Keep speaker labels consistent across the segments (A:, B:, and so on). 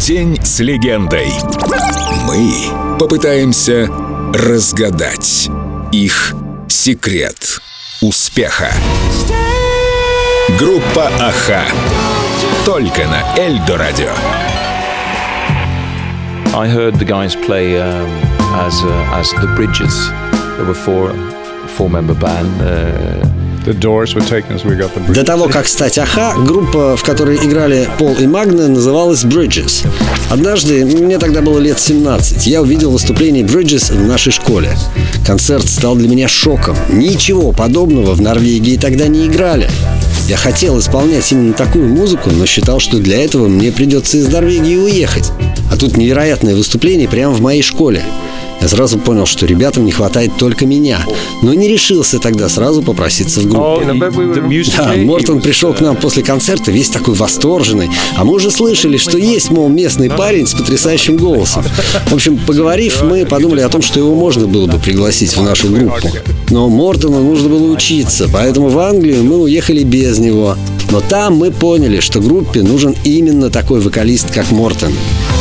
A: День с легендой. Мы попытаемся разгадать их секрет успеха. Группа «Аха». Только на Эльдо Радио.
B: I heard the guys play as the Bridges. There were four-member band.
C: The Doors were taken as we got the Bridges.
D: До того, как стать Аха, группа, в которой играли Пол и Магна, называлась Bridges. Однажды, мне тогда было лет 17, я увидел выступление Bridges в нашей школе. Концерт стал для меня шоком. Ничего подобного в Норвегии тогда не играли. Я хотел исполнять именно такую музыку, но считал, что для этого мне придется из Норвегии уехать. А тут невероятное выступление прямо в моей школе. Я сразу понял, что ребятам не хватает только меня, но не решился тогда сразу попроситься в группу. Да, Мортон пришел к нам после концерта весь такой восторженный, а мы уже слышали, что есть, мол, местный парень с потрясающим голосом. В общем, поговорив, мы подумали о том, что его можно было бы пригласить в нашу группу. Но Мортону нужно было учиться, поэтому в Англию мы уехали без него. Но там мы поняли, что группе нужен именно такой вокалист, как Мортон.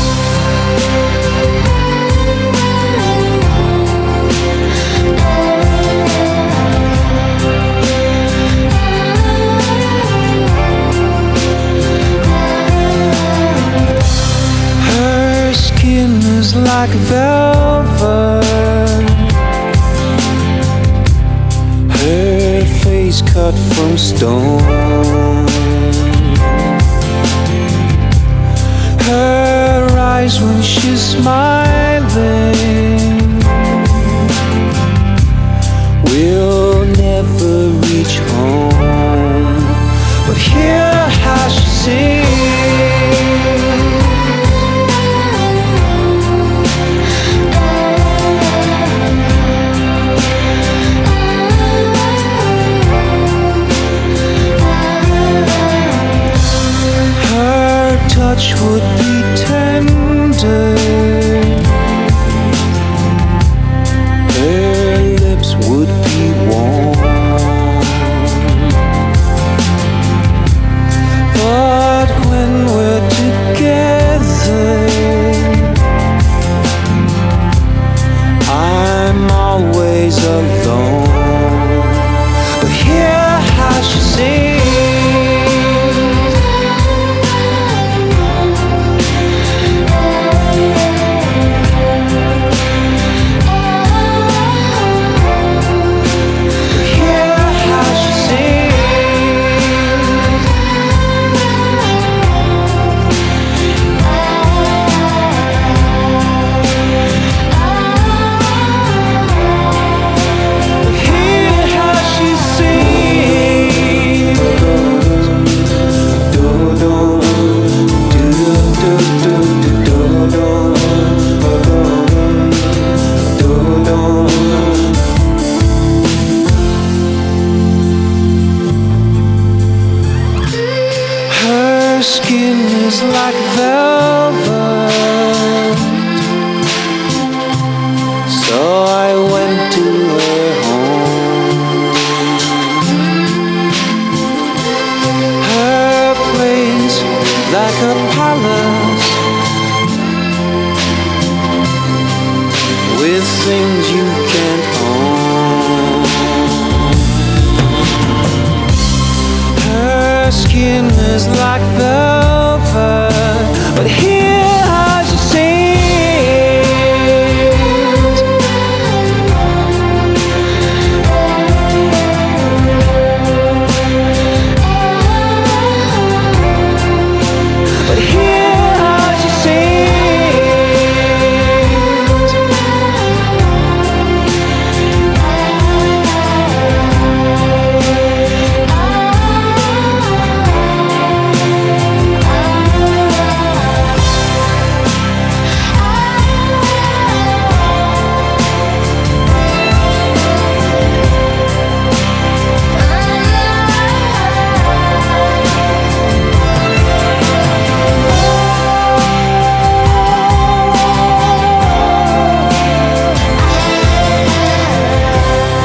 E: Like velvet, her face cut from stone, her eyes when she's smiling will never reach home, but hear how she sings. Touch would be tender, her lips would be warm, but when we're together, I'm always alone. But hear how she sings. Skin is like velvet, so I went to her home. Her place like a palace with things you can't own. Her skin is like velvet, but hear how she sings. But hear how she sings.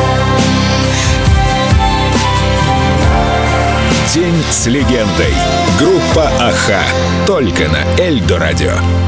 A: День с легендой. Группа «Аха». Только на Эльдо радио.